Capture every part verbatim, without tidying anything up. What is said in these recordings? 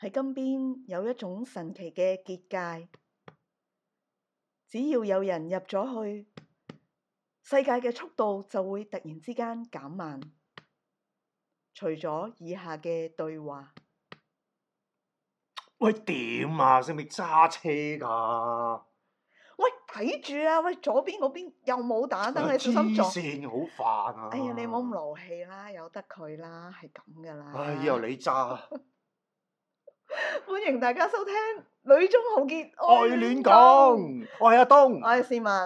喺金邊有一種神奇嘅結界，只要有人入咗去，世界嘅速度就會突然之間減慢。除咗以下嘅對話。 喂，點啊？識唔識揸車㗎？ 喂，睇住啊！喂，左邊嗰邊又冇打燈，你小心撞。 黐線，好煩啊！ 哎呀，你唔好咁勞氣啦，由得佢啦，係咁噶啦。 唉，以後你揸。 歡迎大家收聽《女中豪傑愛亂講》，我係阿東， 我係市民，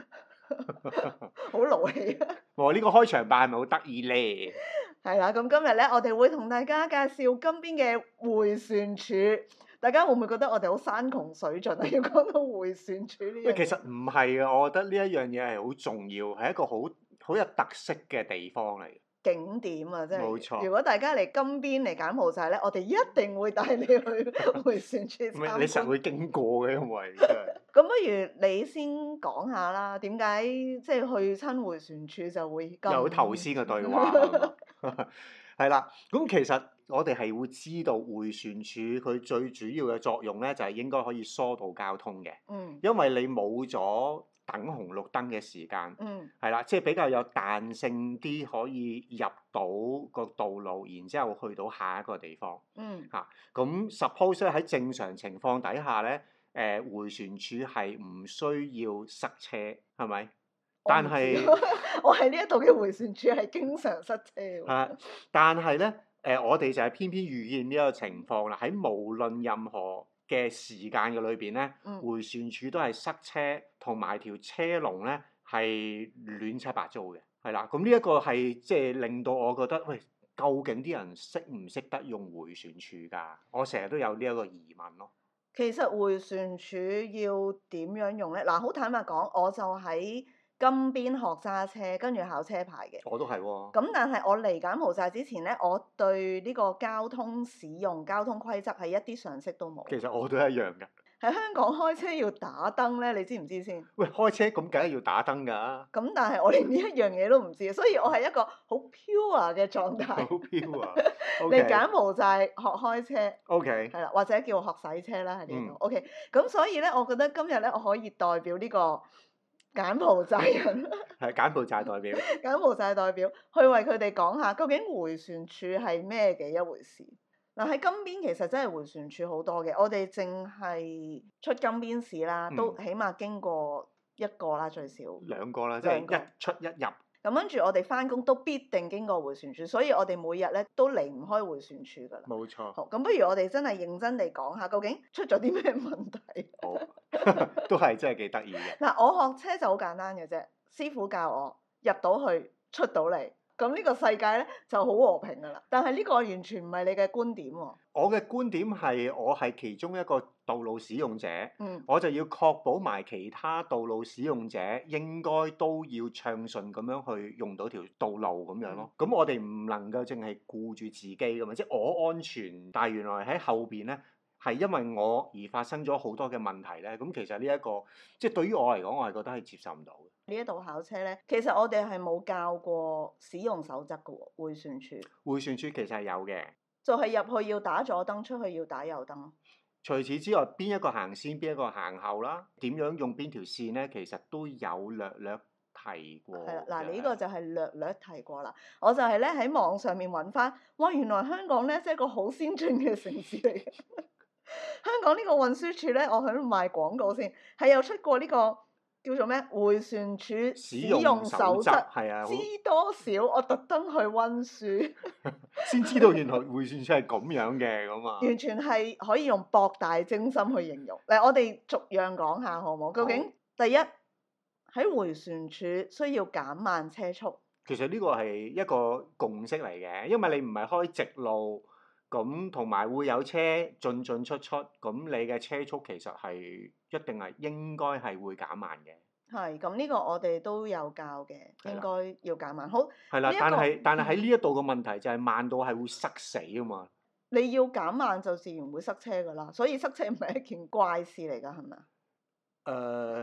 好勞氣啊！ 我呢個開場白係咪好得意咧？ 係啦，咁今日咧，我哋會同大家介紹金邊嘅迴旋處。大家會唔會覺得我哋好山窮水盡啊？要講到迴旋處呢樣嘢？ 喂，其實唔係啊，我覺得呢一樣嘢係好重要，係一個好好有特色嘅地方嚟。 景點啊，即係。 冇錯。 如果大家嚟金邊嚟柬埔寨咧，我哋一定會帶你去迴旋處參觀。 你實會經過嘅，因為真係。 咁不如你先講下啦，點解即係去親迴旋處就會咁？ 有頭先嘅對話係啦，咁其實我哋係會知道迴旋處佢最主要嘅作用咧，就係應該可以疏導交通嘅。 嗯。 因為你冇咗等紅綠燈嘅時間。 嗯。 係啦，即係比較有彈性啲，可以入到個道路，然之後去到下一個地方。 嗯。 嚇、啊，咁 suppose 咧喺正常情況底下咧，誒、呃、迴旋處係唔需要塞車，係咪？但係我喺呢一度嘅迴旋處係經常塞車喎。 係，但係咧，誒、呃、我哋就係偏偏遇見呢個情況啦。喺無論任何嘅時間嘅裏邊咧， 嗯、 迴旋處都係塞車，同埋條車龍咧係亂七八糟嘅，係啦。咁呢一個係即係令到我覺得，喂，究竟啲人識唔識得用迴旋處㗎？我成日都有呢一個疑問咯。 其實迴旋處要點樣用咧？嗱，好坦白講，我就喺金邊學揸車，跟住考車牌嘅。 我都係喎。 咁但係我嚟柬埔寨之前咧，我對呢個交通使用、交通規則係一啲常識都冇。 其實我都一樣㗎。 喺香港開車要打燈咧，你知唔知先？ 喂，開車咁梗係要打燈㗎。 咁但係我連呢一樣嘢都唔知，所以我係一個好 pure 嘅狀態。 好 pure 啊！ 嚟柬埔寨學開車。 O K。 係啦，或者叫學洗車啦喺呢度。 嗯、 O K，咁所以咧，我覺得今日咧，我可以代表呢個柬埔寨人。係柬埔寨代表。 柬埔寨代表去為佢哋講下，究竟迴旋處係咩嘅一回事？嗱，喺金邊其實真係迴旋處好多嘅，我哋淨係出金邊市啦，都起碼經過一個啦最少。 兩個啦，即係一出一入。 咁跟住我哋翻工都必定經過迴旋處，所以我哋每日咧都離唔開迴旋處㗎啦。 冇錯。 好，咁不如我哋真係認真地講下，究竟出咗啲咩問題？ 好，都係真係幾得意嘅。 嗱，我學車就好簡單嘅啫，師傅教我入到去出到嚟。咁呢個世界咧就好和平㗎啦，但係呢個完全唔係你嘅觀點喎。 我嘅觀點係我係其中一個道路使用者， 嗯、 我就要確保埋其他道路使用者應該都要暢順咁樣去用到條道路咁樣咯。咁、嗯、我哋唔能夠淨係顧住自己㗎嘛，即係我安全，但係原來喺後邊咧係因為我而發生咗好多嘅問題咧。咁其實呢、這、一個即係對於我嚟講，我係覺得係接受唔到嘅。 呢一度考車咧，其實我哋係冇教過使用守則嘅喎，迴旋處。迴旋處其實係有嘅， 就係入去要打左燈，出去要打右燈。 除此之外，邊一個行先，邊一個行後啦？點樣用邊條線咧？其實都有略略提過。 係啦，嗱，呢個就係略略提過啦。我就係咧喺網上面揾翻，哇！原來香港咧即係個好先進嘅城市嚟嘅。香港呢個運輸處咧，我喺度賣廣告先，係有出過呢、這個。叫做咩？迴旋處使用守則， 係啊， 知多少？我特登去溫書， 先知道原來迴旋處係咁樣嘅咁啊！ 完全係可以用博大精深去形容。嚟，我哋逐樣講下好冇？究竟好第一喺迴旋處需要減慢車速？ 其實呢個係一個共識嚟嘅，因為你唔係開直路。咁同埋會有車進進出出，咁你嘅車速其實係一定係應該係會減慢嘅。 係，咁呢個我哋都有教嘅， 的應該要減慢。好。 係啦的， 這個、 但係但係喺呢一度嘅問題就係慢到係會塞死啊嘛。 你要減慢就自然會塞車㗎啦，所以塞車唔係一件怪事嚟㗎，係咪啊？誒。Uh...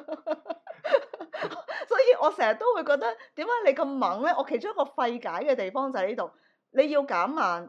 所以我成日都會覺得點解你咁猛咧？我其中一個費解嘅地方就喺呢度，你要減慢。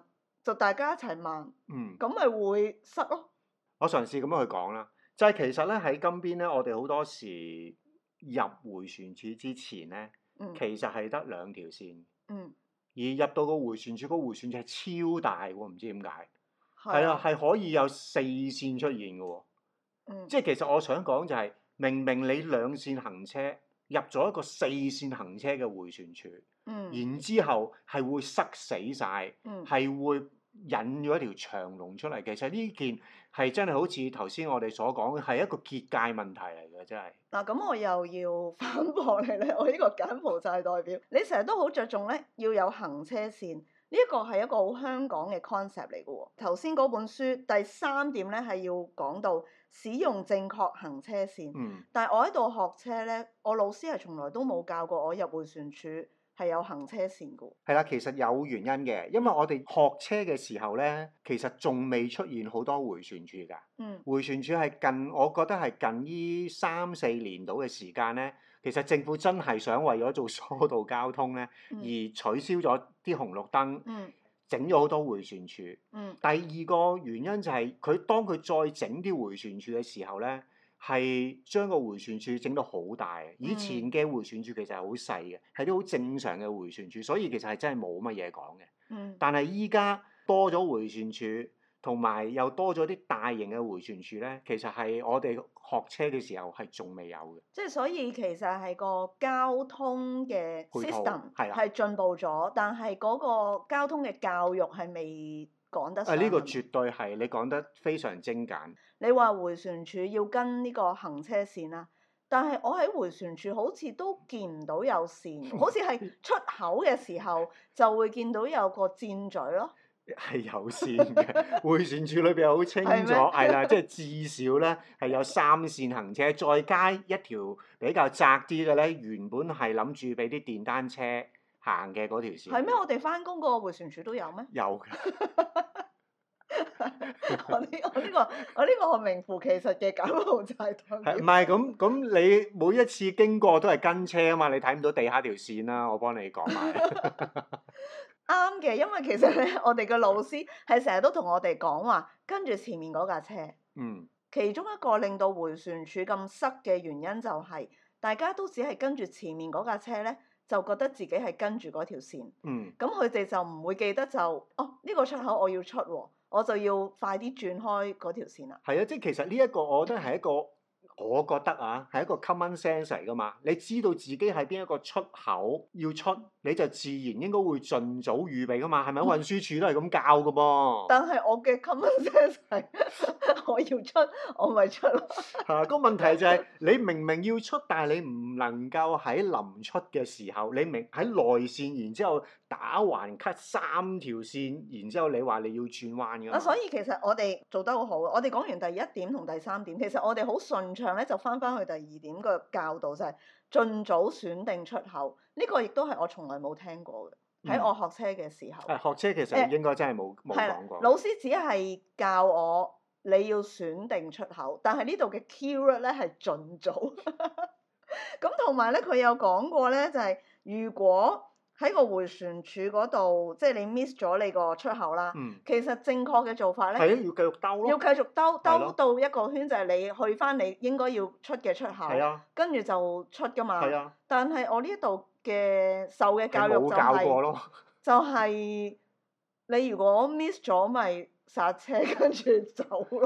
就大家一齊慢， 嗯， 咁咪會塞咯。 我嘗試咁樣去講啦，就係、其實咧喺金邊咧，我哋好多時入迴旋處之前咧， 嗯其實係得兩條線， 嗯， 而入到個迴旋處，個迴旋處係超大喎，唔知點解。係係啊，係可以有四線出現嘅喎。 嗯， 即係其實我想講就係、明明你兩線行車入咗一個四線行車嘅迴旋處， 嗯然之後係會塞死晒， 嗯係會引咗一條長龍出嚟。其實呢件係真係好似頭先我哋所講，係一個結界問題嚟嘅，真係。 嗱，咁我又要反駁你咧，我呢個柬埔寨代表，你成日都好着重咧要有行車線，呢一個係一個好香港嘅 concept 嚟嘅喎。頭先嗰本書第三點咧係要講到使用正確行車線， 嗯， 但係我喺度學車咧，我老師係從來都冇教過我入迴旋處係有行車線嘅喎。 係啦，其實有原因嘅，因為我哋學車嘅時候咧，其實仲未出現好多迴旋處㗎。 嗯迴旋處係近，我覺得係近呢三四年度嘅時間咧，其實政府真係想為咗做疏導交通咧， 嗯而取消咗啲紅綠燈， 嗯整咗好多迴旋處。 嗯第二個原因就係、佢當佢再整啲迴旋處嘅時候咧，係將個迴旋處整到好大。以前嘅迴旋處其實係好細嘅，係啲好正常嘅迴旋處，所以其實係真係冇乜嘢講嘅。 嗯但係依家多咗迴旋處，同埋又多咗啲大型嘅迴旋處咧，其實係我哋學車嘅時候係仲未有嘅。 即係所以其實係個交通嘅配套 system 係啦係進步咗，但係嗰個交通嘅教育係未趕得上。 啊，呢個係咪絕對係你講得非常精簡。 你話迴旋處要跟呢個行車線啦，但係我喺迴旋處好似都見唔到有線，好似係出口嘅時候就會見到有個箭嘴咯。 係有線嘅，迴旋處裏邊好清楚， 係咩係啦，即係至少咧係有三線行車，再加一條比較窄啲嘅咧，原本係諗住俾啲電單車行嘅嗰條線。 係咩？我哋翻工個迴旋處都有咩？ 有嘅。 我呢我呢個我呢個我名副其實嘅柬埔寨代係表。 唔係咁咁？你每一次經過都係跟車啊嘛，你睇唔到地下條線啦，我幫你講埋。 啱嘅，因為其實咧，我哋嘅老師係成日都同我哋講話，跟住前面嗰架車。 嗯， 其中一個令到迴旋處咁塞嘅原因就係、大家都只係跟住前面嗰架車咧，就覺得自己係跟住嗰條線。 嗯， 咁佢哋就唔會記得就哦呢、個出口我要出喎，我就要快啲轉開嗰條線啦。 係啊，即係其實呢一個我覺得係一個，我覺得啊係一個 common sense 嚟噶嘛。你知道自己喺邊一個出口要出，你就自然應該會盡早預備噶嘛。係咪？運輸署都係咁教噶噃。 但係我嘅 common sense 係我要出，我咪出咯。 嚇，個問題就係、你明明要出，但係你唔能夠喺臨出嘅時候，你明喺內線，然之後打橫 cut 三條線，然之後你話你要轉彎㗎嘛。 啊，所以其實我哋做得好好。我哋講完第一點同第三點，其實我哋好順暢咧，就翻翻去第二點個教導就係、盡早選定出口。呢、個亦都係我從來冇聽過嘅。喺我學車嘅時候， 誒學車其實應該真係冇冇係啦講過。 老師只係教我你要選定出口，但係呢度嘅 keyword 咧係盡早。咁同埋咧，佢有講過咧，就係、如果喺個迴旋處嗰度，即係你 miss 咗你個出口啦。 嗯， 其實正確嘅做法咧， 係啊，要繼續兜咯。 要繼續兜係咯兜到一個圈，就係你去翻你應該要出嘅出口， 係啊， 跟住就出噶嘛。 係啊， 但係我呢度嘅受嘅教育就係冇教過係、 咯。 就係、你如果 miss 咗咪剎車跟住走咯。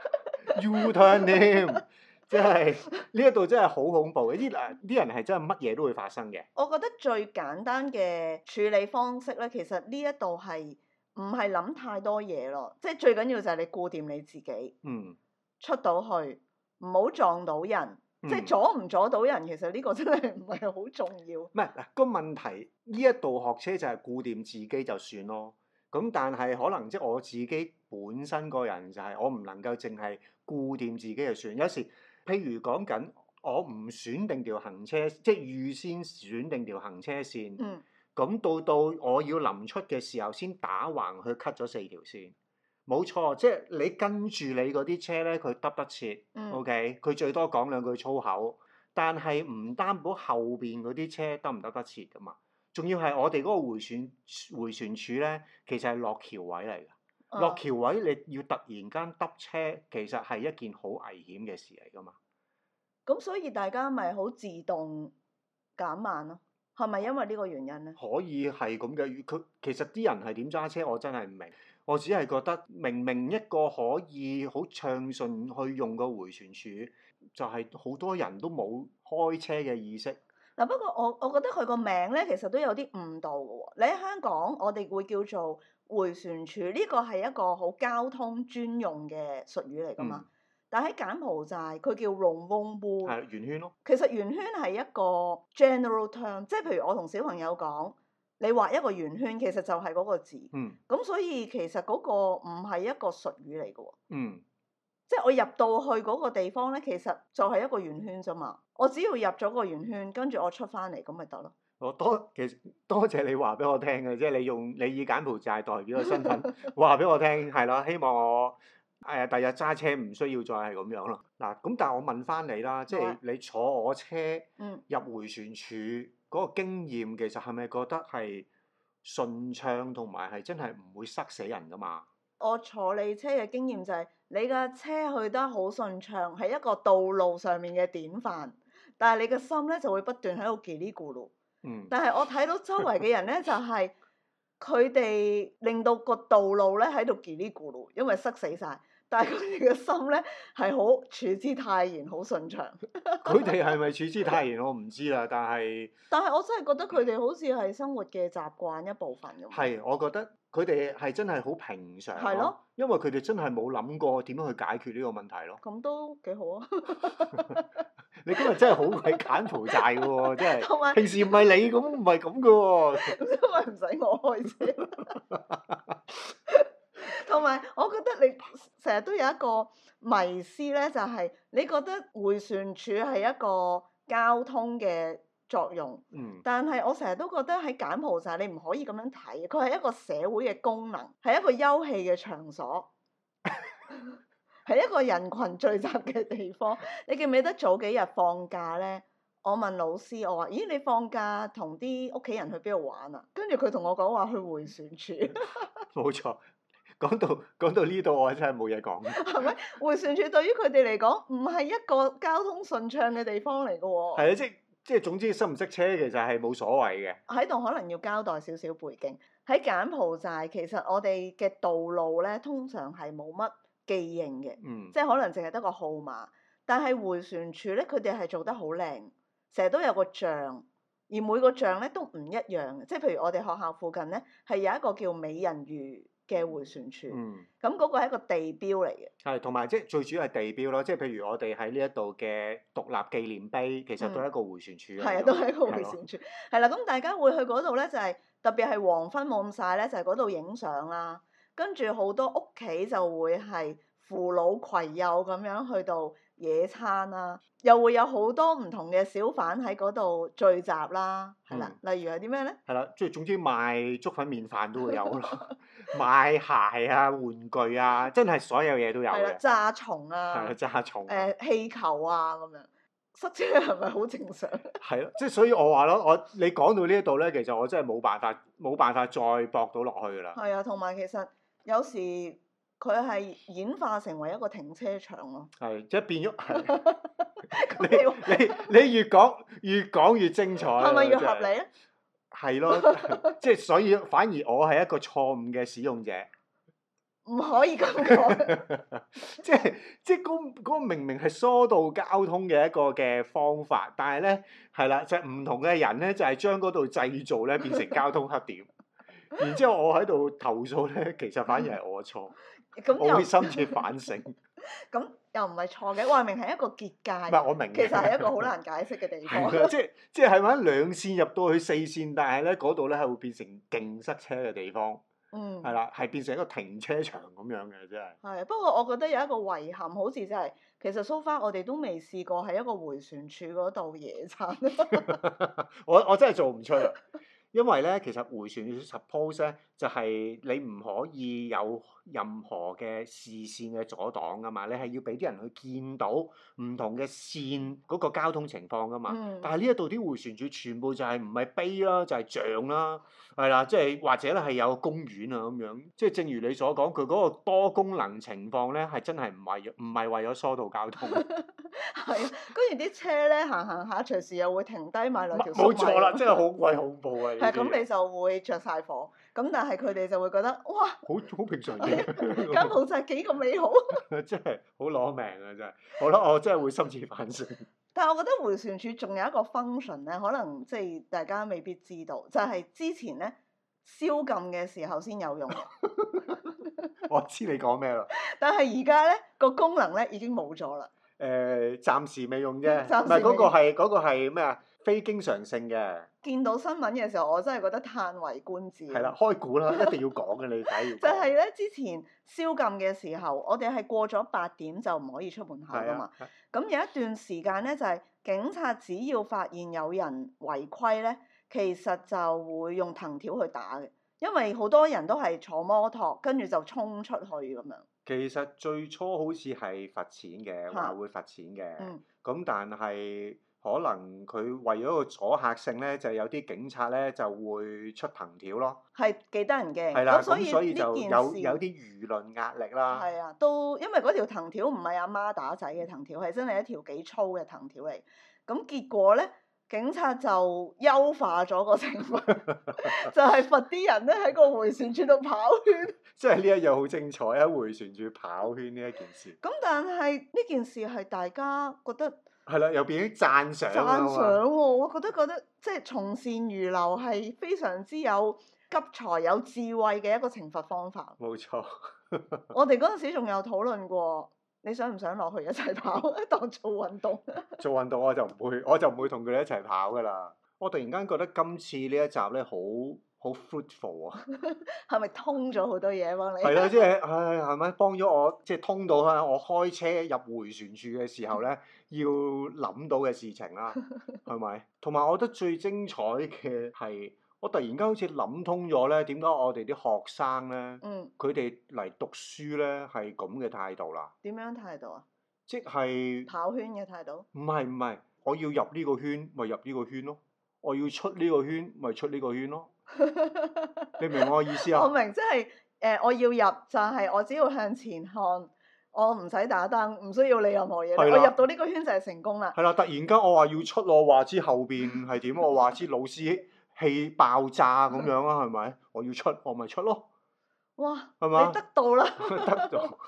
U turn 添，即係呢一度真係好恐怖嘅。啲誒啲人係真係乜嘢都會發生嘅。 我覺得最簡單嘅處理方式咧，其實呢一度係唔係諗太多嘢咯，即係最緊要就係你顧掂你自己， 嗯， 出到去唔好撞到人， 嗯即係阻唔阻到人，其實呢個真係唔係好重要。 唔係嗱個問題，呢一度學車就係顧掂自己就算咯。咁但係可能即係我自己本身個人就係我唔能夠淨係顧掂自己就算。有時譬如講緊我唔選定條行車，即係預先選定條行車線。 嗯。 咁到到我要臨出嘅時候，先打橫去 cut 咗四條線。冇錯，即係你跟住你嗰啲車咧，佢得得切。 嗯 OK，佢最多講兩句粗口，但係唔擔保後邊嗰啲車得唔得得切噶嘛。 仲要係我哋嗰個迴旋迴旋處咧，其實係落橋位嚟㗎。 啊落橋位你要突然間揼車，其實係一件好危險嘅事嚟㗎嘛。 咁所以大家咪好自動減慢咯，係咪因為呢個原因咧？ 可以係咁嘅，佢其實啲人係點揸車，我真係唔明。我只係覺得明明一個可以好暢順去用個迴旋處，就係、是、好多人都冇開車嘅意識。 嗱，不過我我覺得佢個名咧其實都有啲誤導嘅喎。你喺香港，我哋會叫做迴旋處，呢個係一個好交通專用嘅術語嚟㗎嘛。 嗯、 但喺柬埔寨，佢叫 Rong Wong Bu。 係圓圈咯。 其實圓圈係一個 general term，即係譬如我同小朋友講，你畫一個圓圈，其實就係嗰個字。 嗯。 咁所以其實嗰個唔係一個術語嚟嘅喎。 嗯。 即係我入到去嗰個地方咧，其實就係一個圓圈啫嘛。我只要入咗個圓圈，跟住我出翻嚟咁咪得咯。 我多其實多謝你話俾我聽嘅，即係你用你以柬埔寨代表嘅身份話俾我聽，係啦，希望我誒第日揸車唔需要再係咁樣咯。嗱，咁但係我問翻你啦，即係你坐我車入迴旋處嗰個經驗，其實係咪覺得係順暢同埋係真係唔會塞死人㗎嘛？ 我坐你車嘅經驗就係、是、你架車去得好順暢，係一個道路上面嘅典範。但係你嘅心咧就會不斷喺度嘰哩咕嚕。 嗯。 但係我睇到周圍嘅人咧，就係佢哋令到個道路咧喺度嘰哩咕嚕，因為塞死晒。但係佢哋嘅心咧係好處之泰然，好順暢。 佢哋係咪處之泰然我唔知啦，但係但係我真係覺得佢哋好似係生活嘅習慣一部分咁。 係，我覺得佢哋係真係好平常。 係咯。 因為佢哋真係冇諗過點樣去解決呢個問題咯。 咁都幾好啊！ 你今日真係好鬼柬埔寨嘅喎，真係。 同埋平時唔係你咁，唔係咁嘅喎。 因為唔使我開車。同埋我覺得你成日都有一個迷思咧，就係、是、你覺得迴旋處係一個交通嘅作用， 嗯、 但係我成日都覺得喺柬埔寨你唔可以咁樣睇，佢係一個社會嘅功能，係一個休憩嘅場所，係一個人群聚集嘅地方。你記唔記得早幾日放假咧？我問老師，我話：咦，你放假同啲屋企人去邊度玩啊？跟住佢同我講話去迴旋處。 冇錯。講到講到呢度，我真係冇嘢講。 係咪迴旋處對於佢哋嚟講唔係一個交通順暢嘅地方嚟嘅喎？ 係啊，即即係總之識唔識車其實係冇所謂嘅。 喺度可能要交代少少背景。喺柬埔寨其實我哋嘅道路咧，通常係冇乜記認嘅， 嗯、 即係可能淨係得個號碼。但係迴旋處咧，佢哋係做得好靚，成日都有個像，而每個像咧都唔一樣嘅。即係譬如我哋學校附近咧，係有一個叫美人魚嘅迴旋處，咁嗰、嗯、個係一個地標嚟嘅。 係，同埋即係最主要係地標咯，即係譬如我哋喺呢一度嘅獨立紀念碑，其實都係一個迴旋處。係啊、嗯， 都係一個迴旋處。係啦，咁大家會去嗰度咧，就係、是、特別係黃昏冇咁曬咧，就係嗰度影相啦。跟住好多屋企就會係扶老攜幼咁樣去到野餐啦，又會有好多唔同嘅小販喺嗰度聚集啦，係啦，嗯、例如係啲咩咧？係啦，即係總之賣粥粉麵飯都會有咯，賣鞋啊、玩具啊，真係所有嘢都有嘅。 炸蟲啊！ 係啊，炸蟲。 誒氣球啊咁樣，塞車係咪好正常？ 係咯，即係所以我話咯，我你講到呢一度咧，其實我真係冇辦法，冇辦法再駁到落去㗎啦。係啊，同埋其實有時佢係演化成為一個停車場咯。 係，即係變咗。你你你越講越講越精彩。係咪越合理咧？ 係咯，即係所以反而我係一個錯誤嘅使用者。 唔可以咁講。 即係即係嗰嗰個明明係疏導交通嘅一個嘅方法，但係咧係啦，就係、是、唔同嘅人咧，就係、是、將嗰度製造咧變成交通黑點。然之後我喺度投訴咧，其實反而係我錯。我會深切反省。 咁又唔係錯嘅，話明係一個結界。唔係我明。 其實係一個好難解釋嘅地方。 即係即係係咪兩線入到去四線，但係咧嗰度咧係會變成勁塞車嘅地方。嗯。係啦，係變成一個停車場咁樣嘅，真係。係， 不過我覺得有一個遺憾，好似真係其實 so far 我哋都未試過喺一個迴旋處嗰度野餐。 我我真係做唔出啊！ 因為咧，其實迴旋處 suppose 咧就係、是、你唔可以有任何嘅視線嘅阻擋噶嘛，你係要俾啲人去見到唔同嘅線嗰個交通情況噶嘛。 嗯、 但係呢一度啲迴旋處全部就係唔係碑啦，就係、是、像啦，係啦，即係或者咧係有個公園啊咁樣。即係正如你所講，佢嗰個多功能情況咧係真係唔係唔係為咗疏導交通。 係啊，跟住啲車咧行行下，隨時又會停低買兩條粟米。 冇錯啦，真係好鬼恐怖啊！ 係咁，你就會着晒火。咁但係佢哋就會覺得哇， 好好平常嘅， 間鋪就係幾咁美好。 真係好攞命啊！真係，好啦，我真係會深切反省。 但係我覺得迴旋處仲有一個 function 咧，可能即係大家未必知道，就係、是、之前咧宵禁嘅時候先有用嘅。 我知你講咩啦。 但係而家咧個功能咧已經冇咗啦。 誒、呃，暫時未用啫， 暫時唔係嗰個係嗰、嗰個係咩啊？非經常性嘅。 見到新聞嘅時候，我真係覺得歎為觀止。 係啦，開估啦，一定要講嘅，你睇要。 就係咧，之前宵禁嘅時候，我哋係過咗八點就唔可以出門口噶嘛。咁有一段時間咧，就係、係、警察只要發現有人違規咧，其實就會用藤條去打嘅，因為好多人都係坐摩托，跟住就衝出去咁樣。 其實最初好似係罰錢嘅，話會罰錢嘅。咁、嗯、但係可能佢為咗個阻嚇性咧，就有啲警察咧就會出藤條咯。係幾得人驚。係啦，咁所以就有有啲輿論壓力啦。係啊，都因為嗰條藤條唔係阿媽打仔嘅藤條，係真係一條幾粗嘅藤條嚟。咁結果咧，警察就優化咗個情況，就係罰啲人咧喺個迴旋處度跑圈。即係呢一樣好精彩啊！迴旋處跑圈呢一件事。咁但係呢件事係大家覺得係啦，又變咗讚賞。讚賞喎，我覺得覺得即係從善如流係非常之有急才有智慧嘅一個懲罰方法。冇錯。我哋嗰陣時仲有討論過，你想唔想落去一齊跑當做運動？做運動我就唔會，我就唔會同佢哋一齊跑噶啦。我突然間覺得今次呢一集咧好好 fruitful 啊！係咪通咗好多嘢幫你？係啦，即係唉，係咪幫咗我？即係通到啦！我開車入迴旋處嘅時候咧，要諗到嘅事情啦，係咪？同埋我覺得最精彩嘅係，我突然間好似諗通咗咧，點解我哋啲學生咧，佢哋嚟讀書咧係咁嘅態度啦？點樣態度啊？即係跑圈嘅態度？唔係唔係，我要入呢個圈，咪入呢個圈咯；我要出呢個圈，咪出呢個圈咯。你明我意思啊？我明，即係誒，我要入就係我只要向前看，我唔使打燈，唔需要理任何嘢。的我入到呢個圈就係成功啦。係啦，突然間我話要出，我話知後邊係點，我話知老師氣爆炸咁樣啊，係咪？我要出，我咪出咯。哇！係嘛吧？你得到啦！得到。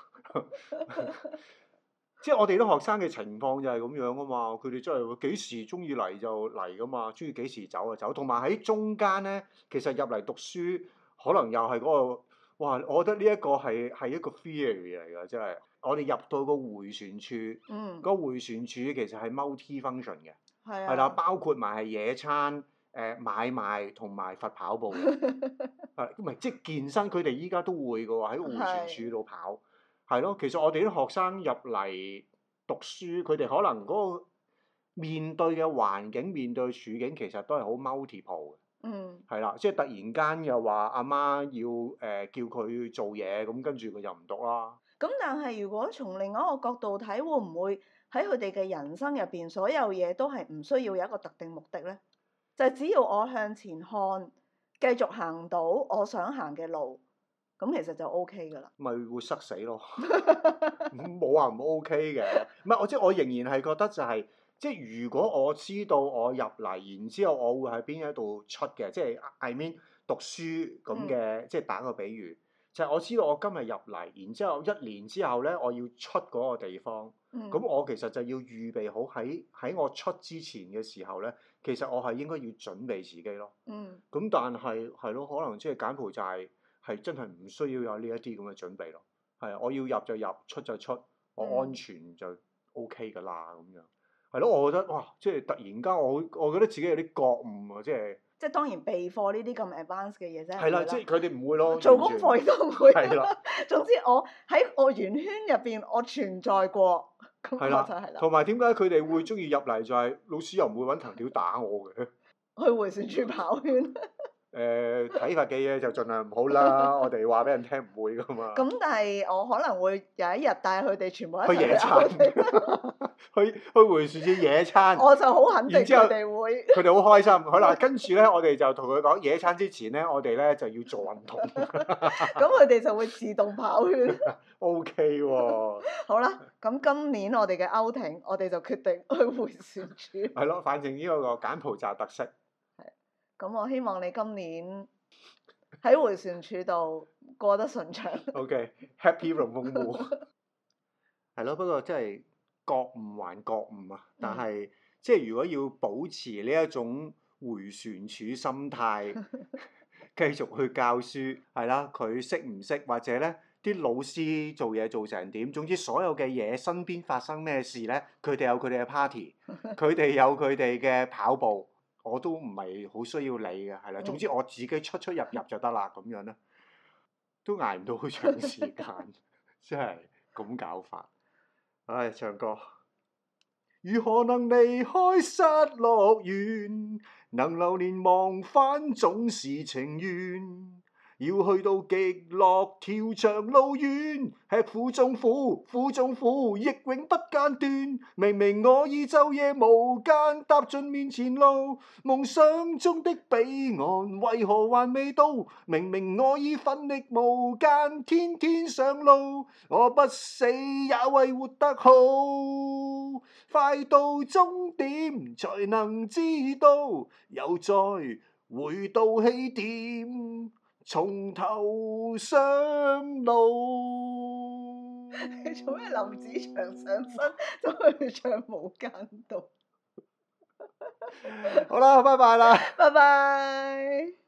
即係我哋啲學生嘅情況就係咁樣啊嘛，佢哋真係幾時中意嚟就嚟噶嘛，中意幾時走就走。同埋喺中間咧，其實入嚟讀書可能又係嗰個，哇！我覺得呢一個係係一個 theory 嚟㗎，真係。我哋入到個迴旋處，嗯，個迴旋處其實係 multi function 嘅，係啊，係啦，包括埋係野餐、誒買賣同埋罰跑步嘅，係唔係即係健身？佢哋依家都會㗎喎，喺迴旋處度跑。係咯，其實我哋啲學生入嚟讀書，佢哋可能嗰個面對嘅環境、面對嘅處境，其實都係好 multiple 嘅。嗯。係啦，即係突然間又話阿媽要誒、呃、叫佢做嘢，咁跟住佢就唔讀啦。咁但係如果從另一個角度睇，會唔會喺佢哋嘅人生入邊，所有嘢都係唔需要有一個特定目的咧？就係、是、只要我向前看，繼續行到我想行嘅路。咁其實就 O K 㗎啦，咪會塞死咯，冇話唔 O K 嘅，唔係我即係我仍然係覺得就係、是，即係如果我知道我入嚟，然之後我會喺邊一度出嘅，即係 I mean 讀書咁嘅，嗯、即係打個比喻，就係、是、我知道我今日入嚟，然之後一年之後咧，我要出嗰個地方，咁、嗯、我其實就要預備好喺喺我出之前嘅時候咧，其實我係應該要準備自己咯，咁、嗯、但係係咯，可能即係柬埔寨。係真係唔需要有呢一啲咁嘅準備咯，係啊，我要入就入，出就出，我安全就 O K 㗎啦咁樣，係咯，我覺得哇，即係突然間我我覺得自己有啲覺悟啊，即係即係當然備課呢啲咁 advanced 嘅嘢啫，係啦，即係佢哋唔會咯，做功課亦都唔會，係啦，總之我喺我圓圈入邊我存在過，咁我就係啦。同埋點解佢哋會中意入嚟就係老師又唔會揾藤條打我嘅？ 去回旋處跑圈。 誒體罰嘅嘢就盡量唔好啦，我哋話俾人聽唔會噶嘛。 咁但係我可能會有一日帶佢哋全部一齊去野餐，去去回旋處野餐。 我就好肯定然之後佢哋會。 佢哋好開心。好啦，跟住咧，我哋就同佢講野餐之前咧，我哋咧就要做運動。 咁佢哋就會自動跑圈。 O K 喎。 好啦，咁今年我哋嘅歐艇，我哋就決定去回旋處。 係咯，反正呢個個柬埔寨特色。 咁我希望你今年喺回旋處度過得順暢。 O K，Happy Ramon Wu。係咯，不過真係覺悟還覺悟啊！但係、嗯、即係如果要保持呢一種回旋處心態，繼續去教書，係啦，佢識唔識或者咧啲老師做嘢做成點？總之所有嘅嘢身邊發生咩事咧，佢哋有佢哋嘅 party，佢哋有佢哋嘅跑步。我都唔係好需要理嘅，係啦。總之我自己出出入入就得啦，咁樣咧，都捱唔到好長時間，真係咁搞法。唉，唱歌。如何能離開失樂園？能流連忘返總是情願。要去到極樂條長路遠，吃苦中苦，苦中苦，亦永不間斷。明明我已晝夜無間踏盡面前路，夢想中的彼岸為何還未到？明明我已奮力無間，天天上路，我不死也為活得好。快到終點才能知道，又再回到起點。從頭上路。 你做咩林子祥上身都去唱無間道？ 好啦，拜拜啦。 拜拜。